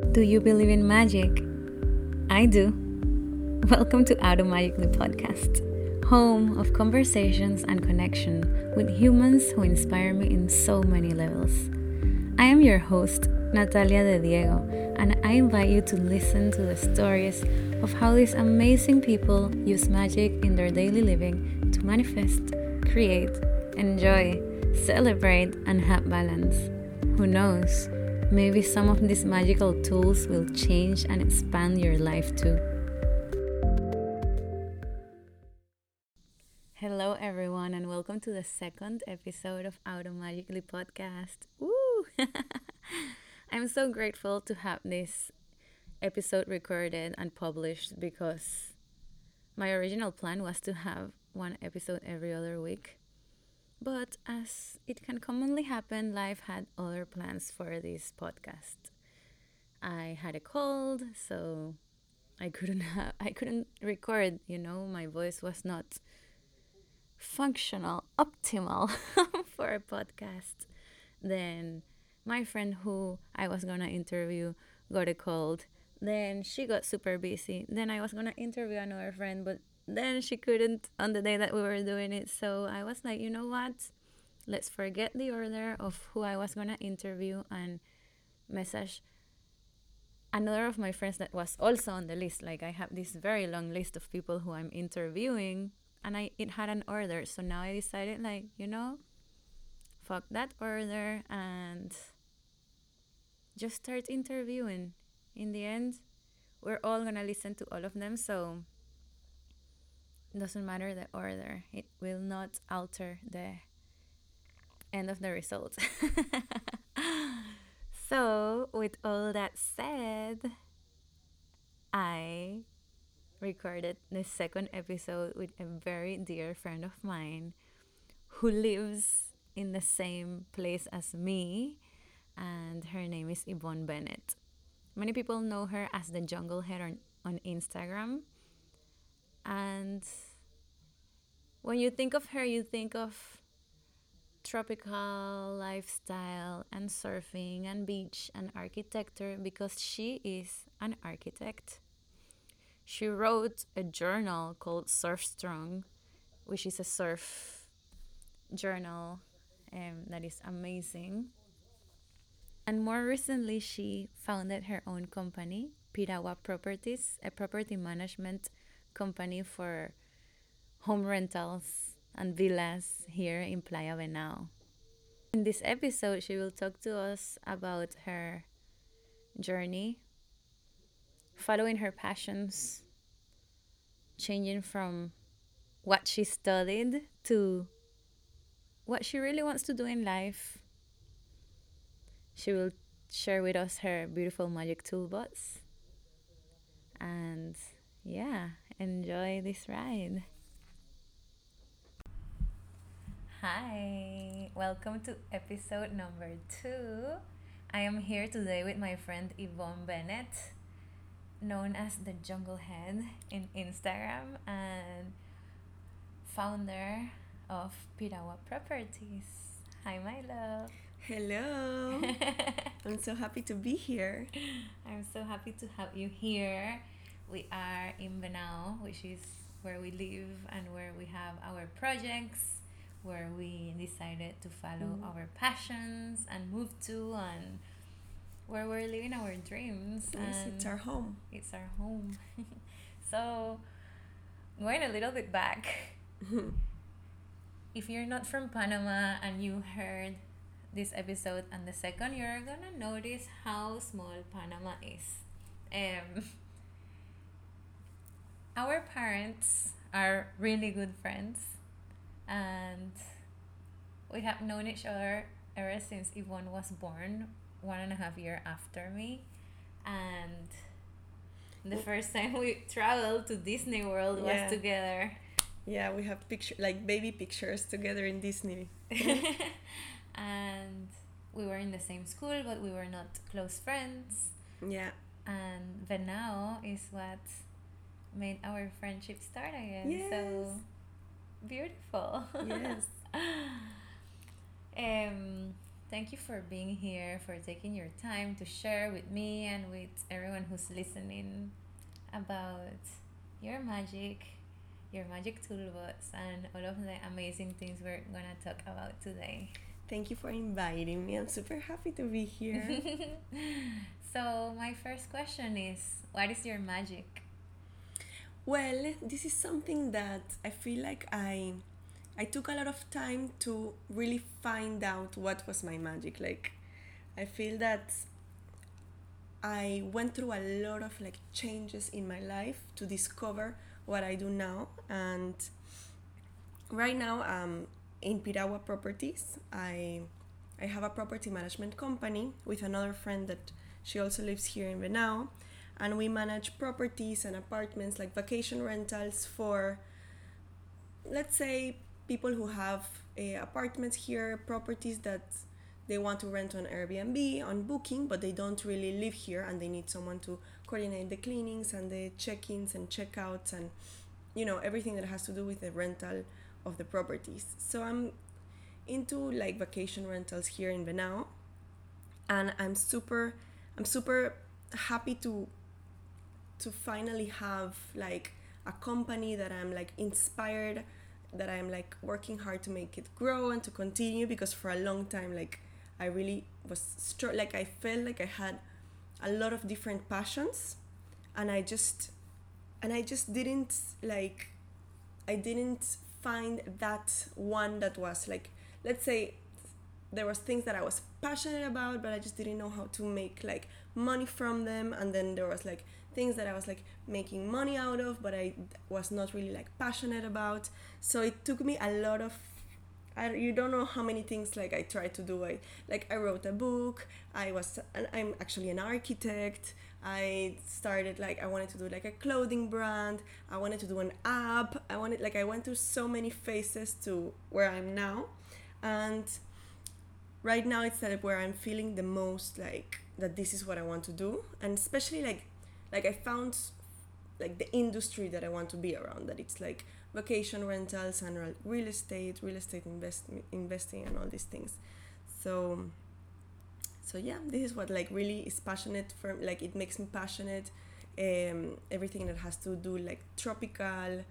Do you believe in magic? I do. Welcome to Automatically Podcast, home of conversations and connection with humans who inspire me in so many levels. I am your host, Natalia De Diego, and I invite you to listen to the stories of how these amazing people use magic in their daily living to manifest, create, enjoy, celebrate, and have balance. Who knows? Maybe some of these magical tools will change and expand your life too. Hello everyone and welcome to the second episode of Automatically Podcast. Woo! I'm so grateful to have this episode recorded and published because my original plan was to have one episode every other week. But as it can commonly happen, life had other plans for this podcast. I had a cold, so I couldn't record, my voice was not functional, optimal for a podcast. Then my friend who I was gonna interview got a cold. Then she got super busy. Then I was gonna interview another friend, but then she couldn't on the day that we were doing it. So I was like, you know what? Let's forget the order of who I was gonna interview and message another of my friends that was also on the list. Like I have this very long list of people who I'm interviewing and it had an order. So now I decided fuck that order and just start interviewing. In the end, we're all gonna listen to all of them, so it doesn't matter the order. It will not alter the end of the result. So, with all that said, I recorded the second episode with a very dear friend of mine who lives in the same place as me, and her name is Yvonne Bennett. Many people know her as the Jungle Head on Instagram. And when you think of her, you think of tropical lifestyle and surfing and beach and architecture because she is an architect. She wrote a journal called Surf Strong, which is a surf journal that is amazing. And more recently, she founded her own company, Piragua Properties, a property management company for home rentals and villas here in Playa Venao. In this episode, she will talk to us about her journey, following her passions, changing from what she studied to what she really wants to do in life. She will share with us her beautiful magic toolbox. And yeah, enjoy this ride. Hi, welcome to episode number 2. I am here today with my friend Yvonne Bennett, known as the Jungle Head in Instagram and founder of Piragua Properties. Hi, my love. Hello. I'm so happy to be here. I'm so happy to have you here. We are in Venao, which is where we live and where we have our projects, where we decided to follow our passions and move to, and where we're living our dreams. Yes, and it's our home. It's our home. So, going a little bit back, if you're not from Panama and you heard this episode and the second, you're gonna notice how small Panama is. Our parents are really good friends, and we have known each other ever since Yvonne was born, 1.5 years after me. And the first time we traveled to Disney World was together. Yeah, we have like baby pictures together in Disney. And we were in the same school, but we were not close friends. Yeah. And Venao is what made our friendship start again. Yes. So beautiful. Yes. Thank you for being here, for taking your time to share with me and with everyone who's listening about your magic toolbox, and all of the amazing things we're gonna talk about today. Thank you for inviting me. I'm super happy to be here. So, my first question is, what is your magic? Well, this is something that I feel like I took a lot of time to really find out what was my magic. Like I feel that I went through a lot of like changes in my life to discover what I do now. And right now in Piragua Properties. I have a property management company with another friend that she also lives here in Venao, and we manage properties and apartments like vacation rentals for, let's say, people who have apartments here, properties that they want to rent on Airbnb on booking, but they don't really live here and they need someone to coordinate the cleanings and the check-ins and check-outs and everything that has to do with the rental of the properties. So I'm into like vacation rentals here in Venao, and I'm super happy to finally have like a company that I'm like inspired, that I'm like working hard to make it grow and to continue, because for a long time like I really was like I felt like I had a lot of different passions, and I just didn't like I didn't find that one that was like, let's say, there was things that I was passionate about, but I just didn't know how to make like money from them. And then there was like things that I was like making money out of, but I was not really like passionate about. So it took me a lot of, you don't know how many things like I tried to do. I wrote a book. I'm actually an architect. I started like I wanted to do like a clothing brand. I wanted to do an app. I went through so many phases to where I'm now, and right now it's like where I'm feeling the most like that this is what I want to do, and especially like I found like the industry that I want to be around, that it's like vacation rentals and real estate investing and all these things. So yeah, this is what like really is passionate for, like it makes me passionate. Everything that has to do like tropical,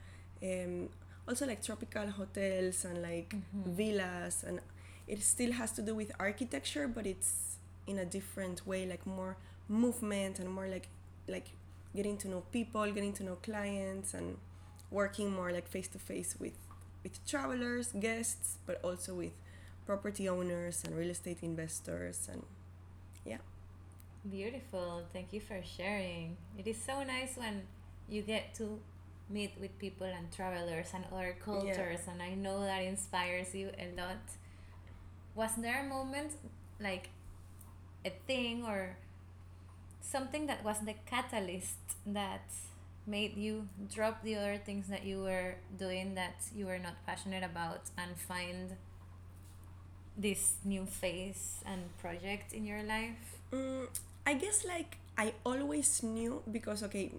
also like tropical hotels and like villas, and it still has to do with architecture, but it's in a different way, like more movement and more like getting to know people, getting to know clients, and working more like face to face with travelers, guests, but also with property owners and real estate investors. And yeah. Beautiful. Thank you for sharing. It is so nice when you get to meet with people and travelers and other cultures, and I know that inspires you a lot. Was there a moment, like a thing or something that was the catalyst that made you drop the other things that you were doing that you were not passionate about and find this new phase and project in your life? I guess like I always knew, because okay,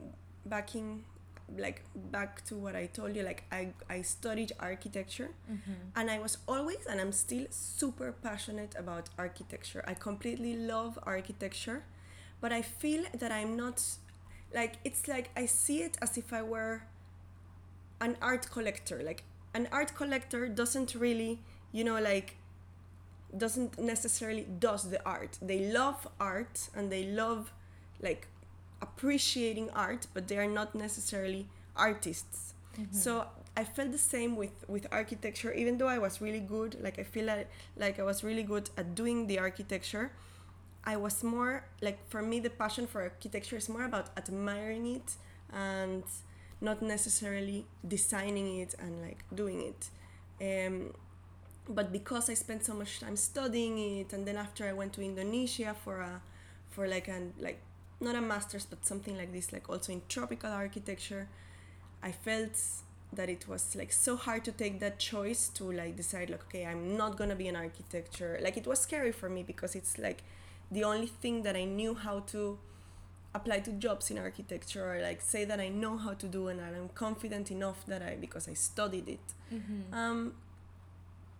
back to what I told you, like I studied architecture, and I was always, and I'm still super passionate about architecture. I completely love architecture, but I feel that I'm not, like it's like I see it as if I were an art collector. Like an art collector doesn't really, like doesn't necessarily does the art. They love art and they love like appreciating art, but they are not necessarily artists. So I felt the same with architecture. Even though I was really good, like I feel like I was really good at doing the architecture, I was more like, for me the passion for architecture is more about admiring it and not necessarily designing it and like doing it. But because I spent so much time studying it, and then after I went to Indonesia for like not a master's but something like this, like also in tropical architecture, I felt that it was like so hard to take that choice to like decide like, okay, I'm not gonna be an architecture. Like it was scary for me because it's like the only thing that I knew how to apply to jobs in architecture, or like say that I know how to do and I'm confident enough that because I studied it.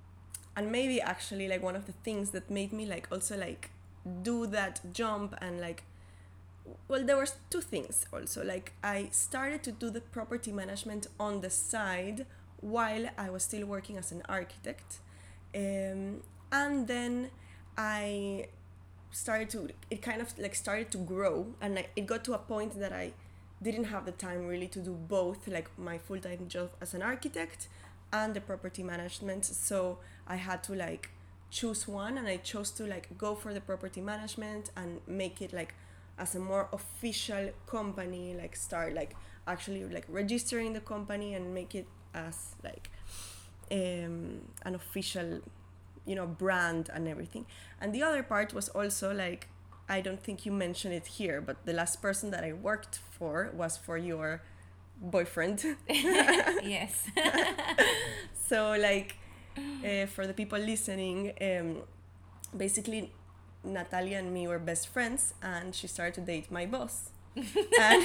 and maybe actually like one of the things that made me like also like do that jump and like, well, there was two things also. Like I started to do the property management on the side while I was still working as an architect, and then I started to, it kind of like started to grow, and like it got to a point that I didn't have the time really to do both, like my full-time job as an architect and the property management. So I had to like choose one, and I chose to like go for the property management and make it like as a more official company, like start like actually like registering the company and make it as like an official, you know, brand and everything. And the other part was also like, I don't think you mentioned it here, but the last person that I worked for was for your boyfriend. Yes. So like, for the people listening, basically Natalia and me were best friends, and she started to date my boss. and,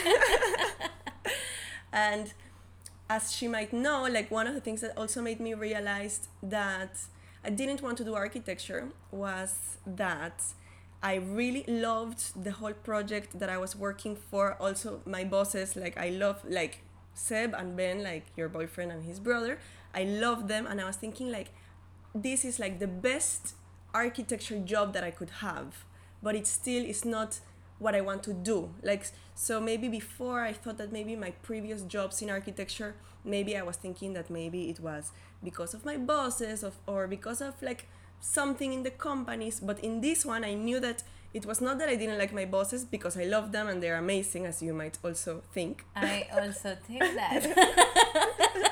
and as she might know, like one of the things that also made me realize that I didn't want to do architecture was that I really loved the whole project that I was working for. Also, my bosses, like I love like Seb and Ben, like your boyfriend and his brother. I love them, and I was thinking like, this is like the best architecture job that I could have, but it still is not what I want to do. Like, so maybe before I thought that maybe my previous jobs in architecture, maybe I was thinking that maybe it was because of my bosses or because of like something in the companies. But in this one, I knew that it was not that I didn't like my bosses, because I love them and they're amazing, as you might also think. I also think that.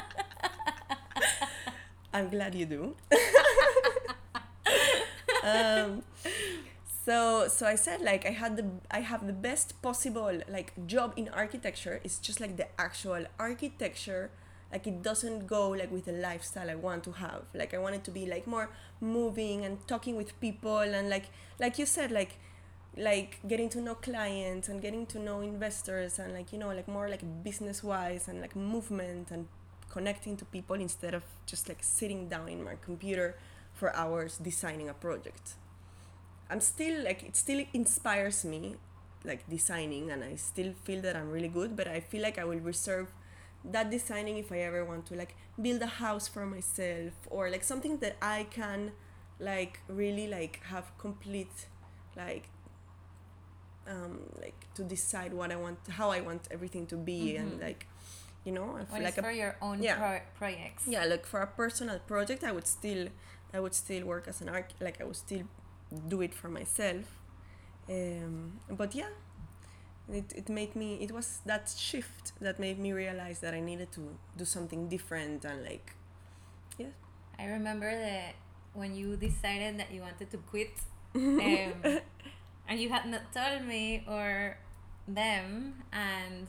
I'm glad you do. um, so I said like I have the best possible like job in architecture. It's just like the actual architecture, like it doesn't go like with the lifestyle I want to have. Like I want it to be like more moving and talking with people, and like you said, like getting to know clients and getting to know investors, and like, you know, like more like business wise and like movement and connecting to people, instead of just like sitting down in my computer for hours designing a project. I'm still like, it still inspires me, like designing, and I still feel that I'm really good, but I feel like I will reserve that designing if I ever want to like build a house for myself, or like something that I can like really like have complete like like to decide what I want, how I want everything to be, and like, you know, I feel When like it's for your own projects. yeah, like for a personal project, I would still work as an like I would still do it for myself. But yeah, it made me, it was that shift that made me realize that I needed to do something different, and like, yeah. I remember that when you decided that you wanted to quit, and you had not told me or them, and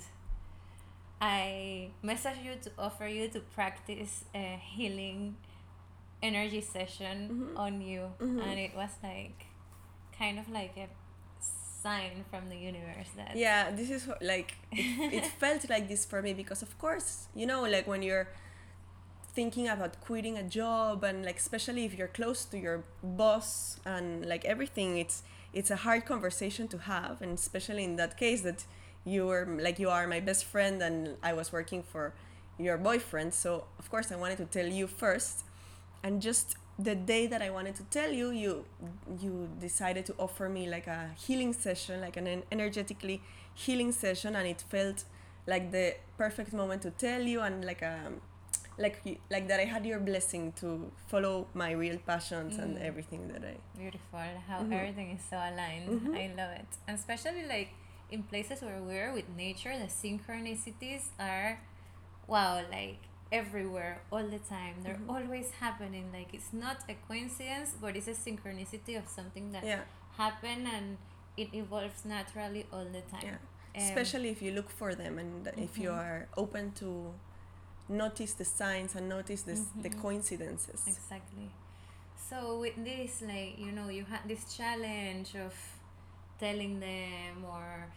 I messaged you to offer you to practice a healing energy session on you, and it was like kind of like a sign from the universe that Yeah, this is what, like it felt like this for me, because of course, you know, like when you're thinking about quitting a job, and like especially if you're close to your boss and like everything, it's a hard conversation to have, and especially in that case that you were like, you are my best friend and I was working for your boyfriend. So of course I wanted to tell you first, and just the day that I wanted to tell you, you decided to offer me like a healing session, like an energetically healing session, and it felt like the perfect moment to tell you, and like like that I had your blessing to follow my real passions and everything that I. Beautiful how everything is so aligned. I love it, and especially like in places where we're with nature, the synchronicities are wow, like everywhere all the time. They're always happening. Like it's not a coincidence, but it's a synchronicity of something that happened, and it evolves naturally all the time. Especially if you look for them, and if you are open to notice the signs and notice the coincidences. Exactly. So with this, like, you know, you had this challenge of telling them or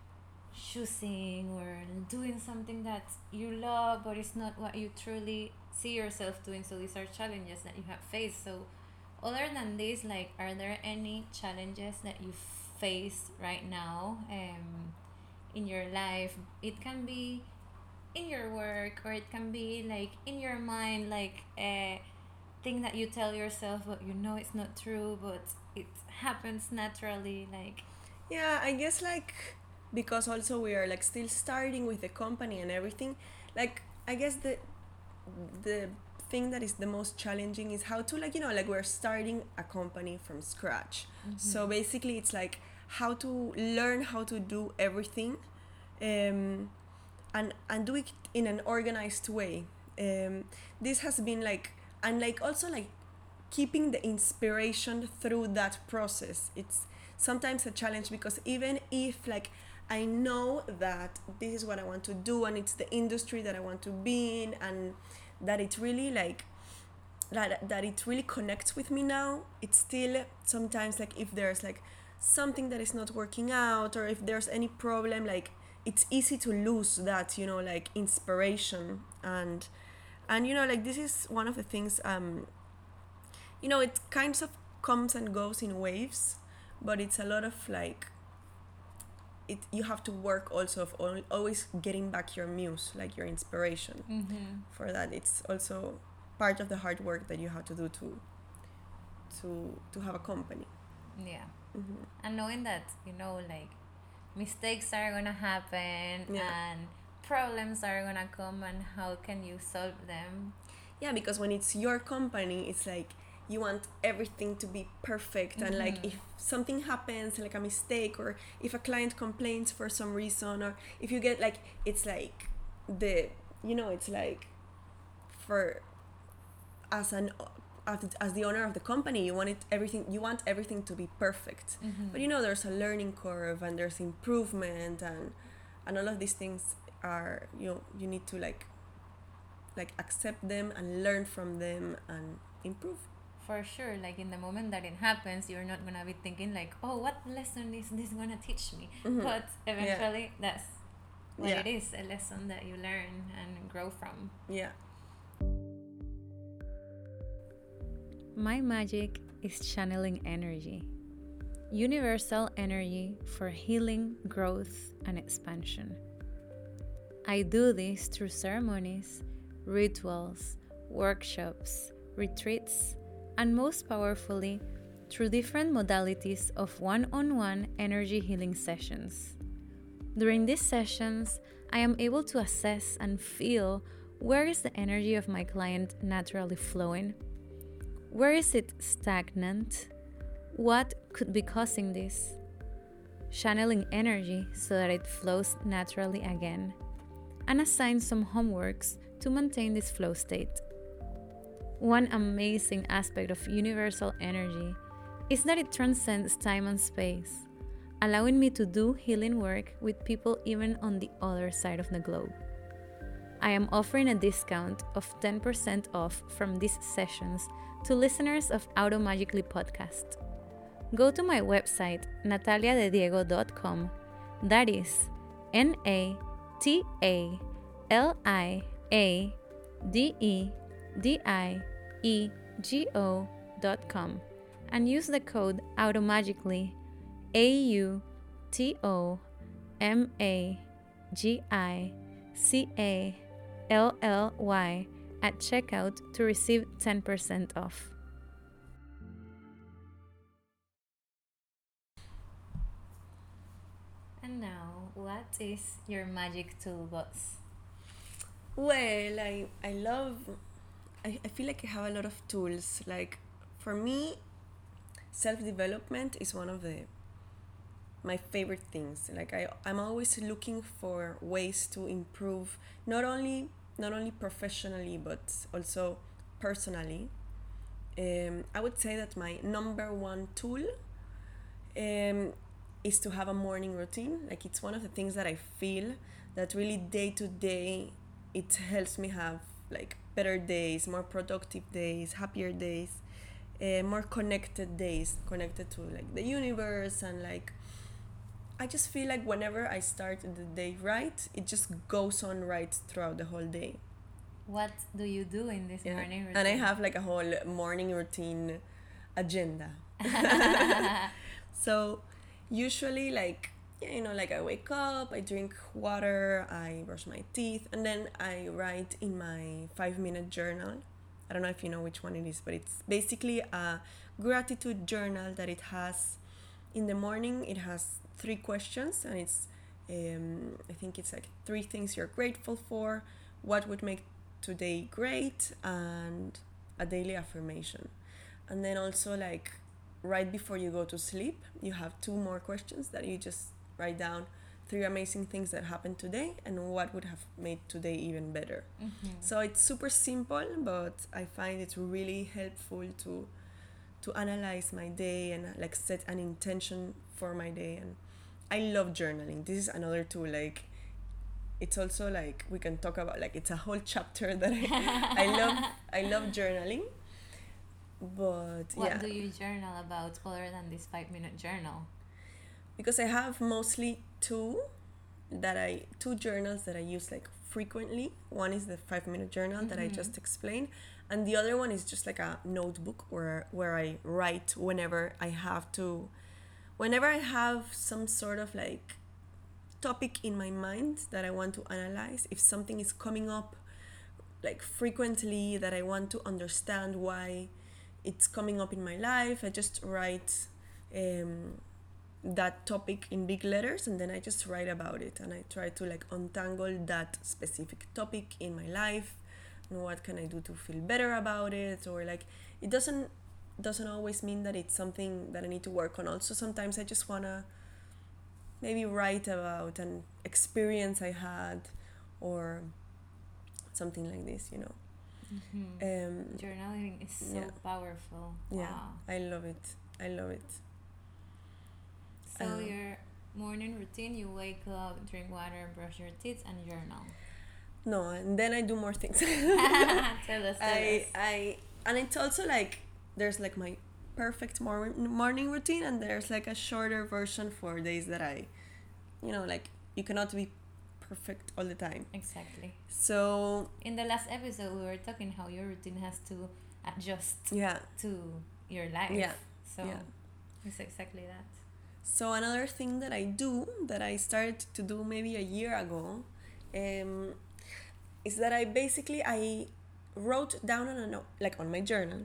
choosing or doing something that you love but it's not what you truly see yourself doing. So these are challenges that you have faced. So other than this, like, are there any challenges that you face right now in your life? It can be in your work, or it can be like in your mind, like a thing that you tell yourself but you know it's not true, but it happens naturally, like. Yeah, I guess like because also we are like still starting with the company and everything, like I guess the thing that is the most challenging is how to like like we're starting a company from scratch. So basically it's like how to learn how to do everything, um, and do it in an organized way. This has been like, and like also like keeping the inspiration through that process. It's sometimes a challenge because even if like I know that this is what I want to do and it's the industry that I want to be in, and that it really like that it really connects with me now, it's still sometimes like if there's like something that is not working out, or if there's any problem, like it's easy to lose that like inspiration. And like this is one of the things, it kind of comes and goes in waves, but it's a lot of like it you have to work also of always getting back your muse, like your inspiration. For that, it's also part of the hard work that you have to do to have a company. Yeah. And knowing that, like, mistakes are gonna happen, Yeah. and problems are gonna come, and how can you solve them? Yeah, because when it's your company, it's like you want everything to be perfect, and like if something happens, like a mistake, or if a client complains for some reason, or if you get like, it's like it's like for as an as the owner of the company, you want everything to be perfect. But there's a learning curve, and there's improvement, and all of these things are you need to like accept them and learn from them and improve. For sure, like in the moment that it happens, you're not gonna be thinking like, oh, what lesson is this gonna teach me? But eventually that's what it is, a lesson that you learn and grow from. Yeah. My magic is channeling energy. Universal energy for healing, growth, and expansion. I do this through ceremonies, rituals, workshops, retreats, and most powerfully, through different modalities of one-on-one energy healing sessions. During these sessions, I am able to assess and feel where is the energy of my client naturally flowing. Where is it stagnant? What could be causing this? Channeling energy so that it flows naturally again, and assign some homeworks to maintain this flow state. One amazing aspect of universal energy is that it transcends time and space, allowing me to do healing work with people even on the other side of the globe. I am offering a discount of 10% off from these sessions to listeners of Automagically podcast. Go to my website, nataliadediego.com. That is NATALIADEDIEGO.com, and use the code Automagically, AUTOMAGICALLY, at checkout to receive 10% off. And now, what is your magic toolbox? Well, I feel like I have a lot of tools. Like for me, self-development is one of my favorite things. Like I'm always looking for ways to improve, not only professionally but also personally. I would say that my number one tool is to have a morning routine. Like it's one of the things that I feel that really day to day it helps me have like better days, more productive days, happier days, more connected days, connected to like the universe. And like I just feel like whenever I start the day right, it just goes on right throughout the whole day. What do you do in this Yeah. morning routine? And I have like a whole morning routine agenda. So usually like, yeah, you know, like I wake up, I drink water, I brush my teeth, and then I write in my 5-minute journal. I don't know if you know which one it is, but it's basically a gratitude journal that it has. In the morning it has 3 questions, and it's I think it's like 3 things you're grateful for, what would make today great, and a daily affirmation. And then also like right before you go to sleep, you have 2 more questions that you just write down 3 amazing things that happened today and what would have made today even better. So it's super simple, but I find it's really helpful to analyze my day and like set an intention for my day. And I love journaling. This is another tool. Like it's also like we can talk about, like it's a whole chapter that I love journaling. But What yeah, do you journal about other than this 5-minute journal? because I have mostly two journals that I use like frequently. One is the 5-minute journal that I just explained, and the other one is just like a notebook where I write whenever I have some sort of like topic in my mind that I want to analyze. If something is coming up like frequently that I want to understand why it's coming up in my life, I just write that topic in big letters, and then I just write about it, and I try to like untangle that specific topic in my life and what can I do to feel better about it. Or like it doesn't always mean that it's something that I need to work on. Also sometimes I just want to maybe write about an experience I had or something like this, you know. Journaling is so yeah. powerful. Yeah, Wow. I love it. So your morning routine, you wake up, drink water, brush your teeth, and journal. No, and then I do more things. Tell us. And it's also like there's like my perfect morning routine, and there's like a shorter version for days that I, you know, like you cannot be perfect all the time. Exactly. So in the last episode, we were talking how your routine has to adjust yeah, to your life. Yeah. So Yeah. it's exactly that. So another thing that I do, that I started to do maybe a year ago, is that I wrote down on a note, like on my journal,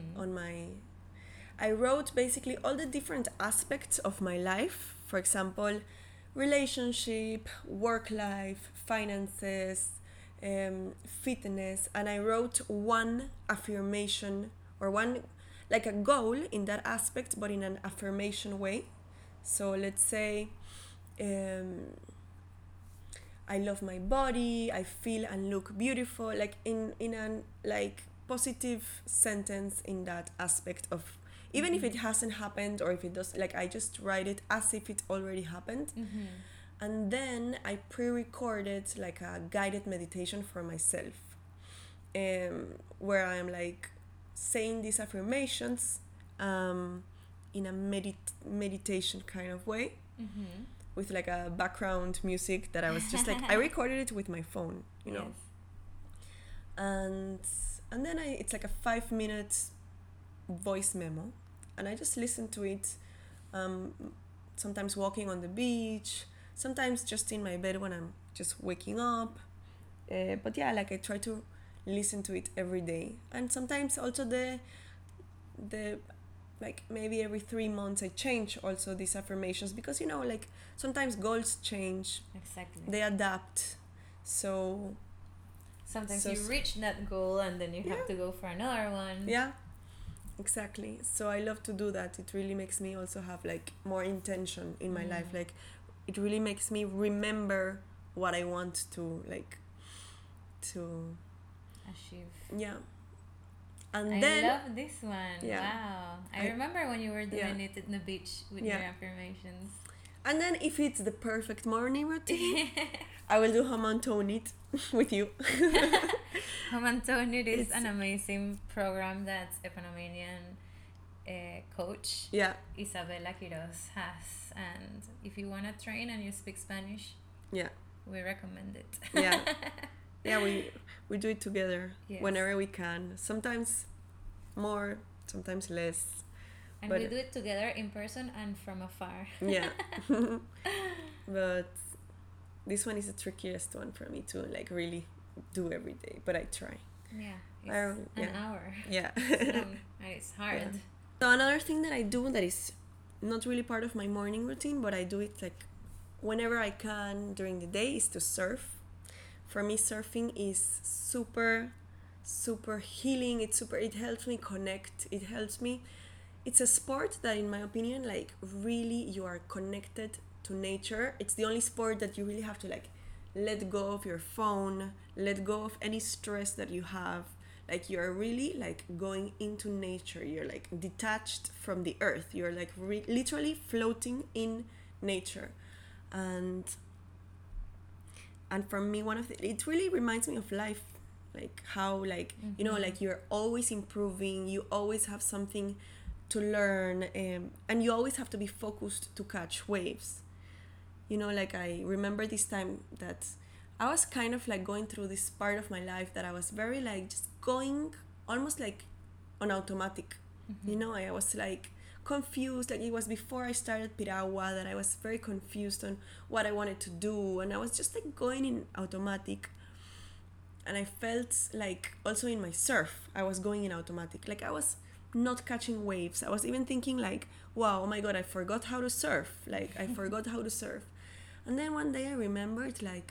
I wrote basically all the different aspects of my life. For example, relationship, work life, finances, fitness, and I wrote one affirmation or one like a goal in that aspect, but in an affirmation way. So let's say I love my body, I feel and look beautiful, like in an like positive sentence in that aspect of, even if it hasn't happened, or if it does, like I just write it as if it already happened. And then I pre-recorded like a guided meditation for myself, where I'm like saying these affirmations in a meditation kind of way, with like a background music that I was just like I recorded it with my phone, you know. And then it's like a 5-minute voice memo, and I just listen to it, sometimes walking on the beach, sometimes just in my bed when I'm just waking up, but yeah, like I try to listen to it every day. And sometimes also the like maybe every 3 months I change also these affirmations, because you know, like sometimes goals change. Exactly. They adapt. So sometimes you reach that goal and then you have to go for another one. Yeah, exactly. So I love to do that. It really makes me also have like more intention in my life. Like it really makes me remember what I want to like to achieve. Yeah. And I then love this one. Yeah. Wow. I remember when you were doing it in the beach with your affirmations. And then if it's the perfect morning routine, I will do Hamantonit with you. Hamantonit is an amazing program that Epanomanian coach Isabella Quiroz has. And if you want to train and you speak Spanish, we recommend it. Yeah, we do it together Yes. whenever we can. Sometimes more, sometimes less. And But we do it together in person and from afar. yeah. But this one is the trickiest one for me to like really do every day. But I try. Yeah, it's I, an hour. Yeah. It's long and it's hard. Yeah. So another thing that I do that is not really part of my morning routine, but I do it like whenever I can during the day, is to surf. For me, surfing is super healing. It helps me connect. It helps me. It's a sport that, in my opinion, like really you are connected to nature. It's the only sport that you really have to like let go of your phone, let go of any stress that you have. Like you're really like going into nature. You're like detached from the earth. You're like literally floating in nature. And for me, it really reminds me of life, like how like you know, like you're always improving, you always have something to learn, and you always have to be focused to catch waves. You know, like I remember this time that I was kind of like going through this part of my life that I was very like just going almost like on automatic. You know, I was like confused. Like it was before I started Piragua that I was very confused on what I wanted to do, and I was just like going in automatic. And I felt like also in my surf, I was going in automatic. Like I was not catching waves. I was even thinking like, wow, oh my god, I forgot how to surf. Like I forgot how to surf. And then one day I remembered like,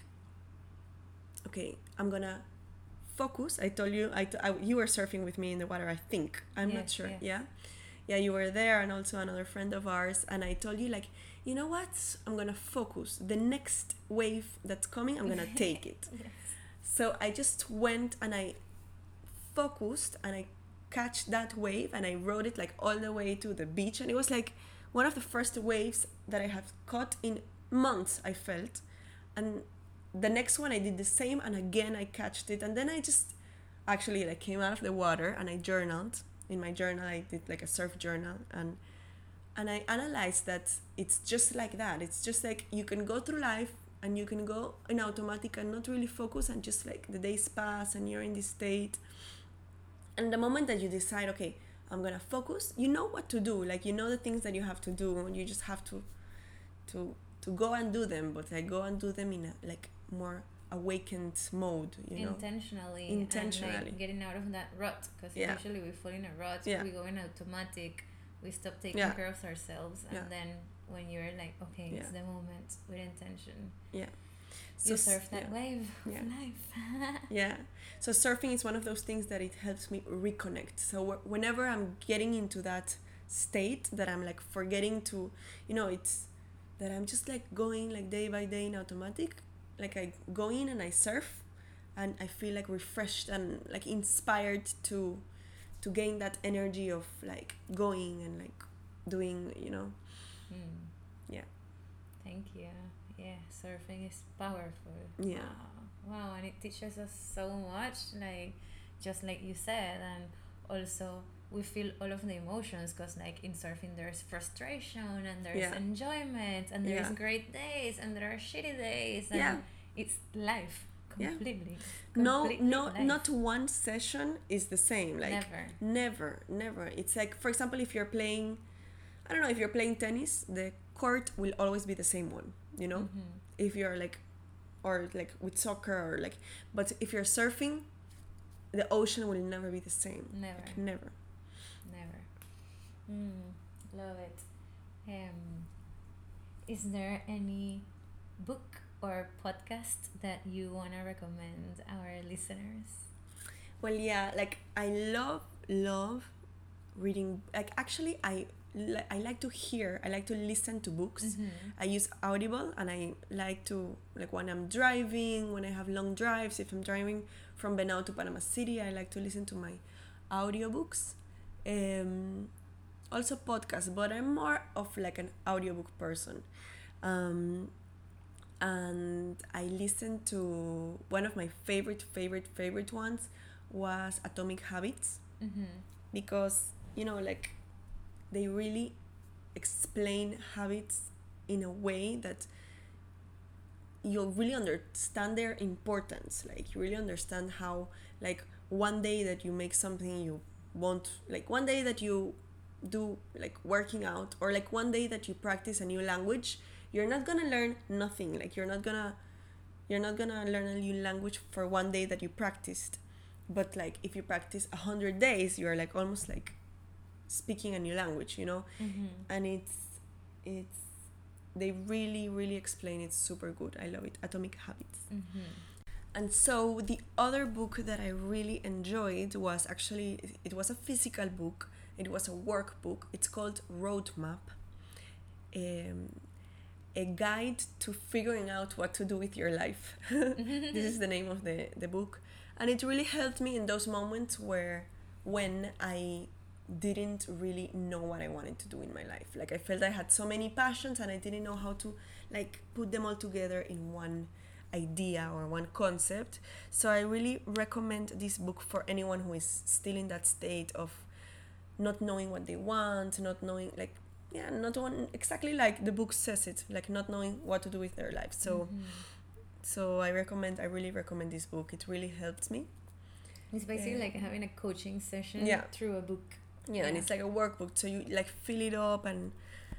okay, I'm gonna focus. I told you, you were surfing with me in the water, I think. I'm not Yes, sure. yes. Yeah? Yeah, you were there, and also another friend of ours. And I told you, like, you know what? I'm gonna focus. The next wave that's coming, I'm gonna take it. Yes. So I just went and I focused and I catch that wave and I rode it like all the way to the beach. And it was like one of the first waves that I have caught in months, I felt. And the next one I did the same, and again I catched it. And then I just actually like came out of the water and I journaled. In my journal I did like a surf journal, and I analyzed that it's just like that. It's just like you can go through life and you can go in automatic and not really focus, and just like the days pass and you're in this state. And the moment that you decide, okay, I'm gonna focus, you know what to do. Like you know the things that you have to do, and you just have to go and do them. But I go and do them in a like more awakened mode, you know. Intentionally and like getting out of that rut, because usually we fall in a rut. We go in automatic, we stop taking care of ourselves, and then when you're like, okay, it's the moment with intention, you surf that wave of life. Yeah, so surfing is one of those things that it helps me reconnect. So whenever I'm getting into that state that I'm like forgetting to, you know, it's that I'm just like going like day by day in automatic, like I go in and I surf and I feel like refreshed and like inspired to gain that energy of like going and like doing, you know. Yeah. Thank you. Yeah, surfing is powerful. Yeah. Wow, and it teaches us so much, like just like you said, and also we feel all of the emotions, because like in surfing there's frustration and there's enjoyment and there's great days and there are shitty days, and it's life completely. Not one session is the same. Like never. It's like, for example, if you're playing, I don't know, if you're playing tennis, the court will always be the same one, you know. If you're like, or like with soccer, or like, but if you're surfing, the ocean will never be the same. Never. Love it. Is there any book or podcast that you want to recommend our listeners? Well, yeah, like I love reading. Like actually I like to hear, I like to listen to books. I use Audible, and I like to, like when I'm driving, when I have long drives, if I'm driving from Benao to Panama City, I like to listen to my audiobooks. Also podcasts, but I'm more of like an audiobook person. And I listened to one of my favorite ones was Atomic Habits, because, you know, like they really explain habits in a way that you really understand their importance. Like you really understand how, like, one day that you make something you want, like one day that you do like working out, or like one day that you practice a new language, you're not gonna learn nothing. Like you're not gonna learn a new language for one day that you practiced. But like if you practice 100 days, you're like almost like speaking a new language, you know. And it's they really really explain it super good. I love it. Atomic Habits. And so the other book that I really enjoyed was actually, it was a physical book. It was a workbook. It's called Roadmap, um, a guide to figuring out what to do with your life. This is the name of the book. And it really helped me in those moments when I didn't really know what I wanted to do in my life. Like I felt I had so many passions and I didn't know how to like put them all together in one idea or one concept. So I really recommend this book for anyone who is still in that state of not knowing what they want, not knowing like not knowing exactly like the book says it, like not knowing what to do with their life. So I really recommend this book. It really helped me. It's basically like having a coaching session through a book. And it's like a workbook, so you like fill it up, and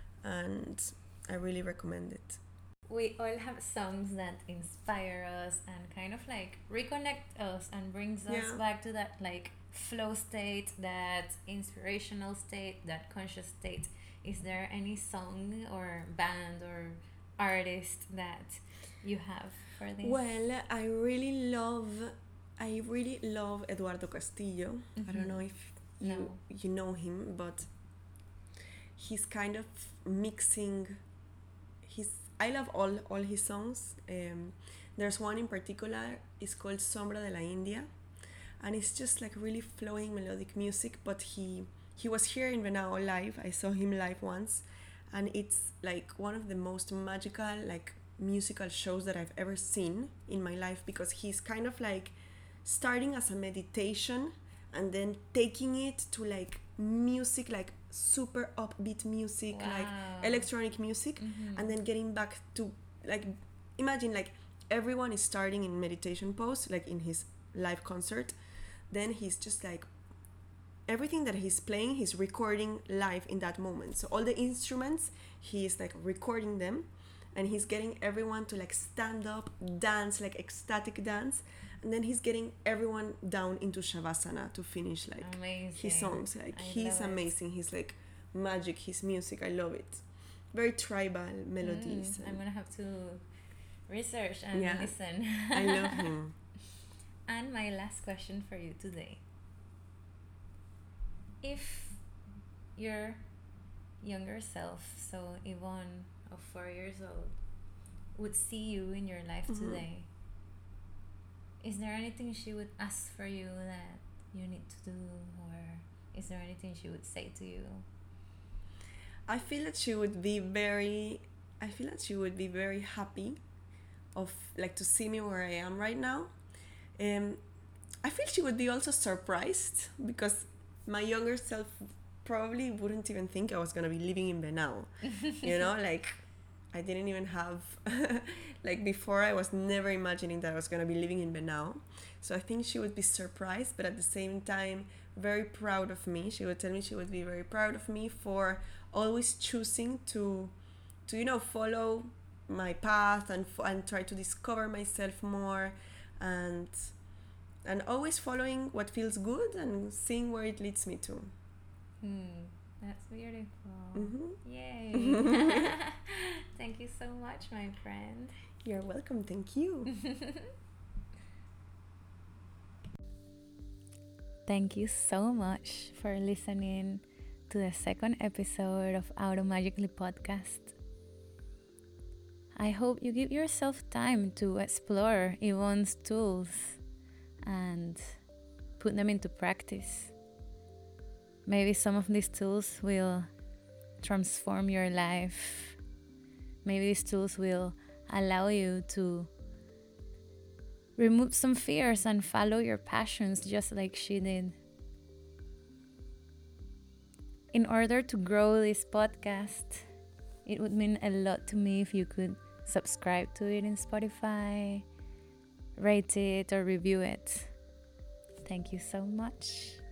I really recommend it. We all have songs that inspire us and kind of like reconnect us and brings us back to that like flow state, that inspirational state, that conscious state. Is there any song or band or artist that you have for this? Well, I really love Eduardo Castillo. I don't know if you know him, but he's kind of mixing I love all his songs. There's one in particular, it's called Sombra de la India, and it's just like really flowing melodic music. But he was here in Venao live. I saw him live once, and it's like one of the most magical like musical shows that I've ever seen in my life, because he's kind of like starting as a meditation and then taking it to like music, like super upbeat music, like electronic music, and then getting back to like, imagine like everyone is starting in meditation pose like in his live concert, then he's just like everything that he's playing he's recording live in that moment. So all the instruments he's like recording them, and he's getting everyone to like stand up, dance, like ecstatic dance, and then he's getting everyone down into Shavasana to finish like his songs. Like he's amazing. He's like magic, his music, I love it. Very tribal melodies. I'm gonna have to research and listen. I love him. And my last question for you today: if your younger self, so Yvonne of 4 years old, would see you in your life today, is there anything she would ask for you that you need to do, or is there anything she would say to you? I feel that she would be very happy of like to see me where I am right now. I feel she would be also surprised, because my younger self probably wouldn't even think I was gonna be living in Venao. You know, like I didn't even have like before I was never imagining that I was gonna be living in Venao. So I think she would be surprised, but at the same time very proud of me. She would tell me she would be very proud of me for always choosing to you know, follow my path and try to discover myself more, and always following what feels good and seeing where it leads me to. That's beautiful. Yay. Mm-hmm. Thank you so much, my friend. You're welcome. Thank you. Thank you so much for listening to the second episode of Automagically podcast. I hope you give yourself time to explore Yvonne's tools and put them into practice. Maybe some of these tools will transform your life. Maybe these tools will allow you to remove some fears and follow your passions just like she did. In order to grow this podcast, it would mean a lot to me if you could subscribe to it in Spotify, rate it or review it. Thank you so much.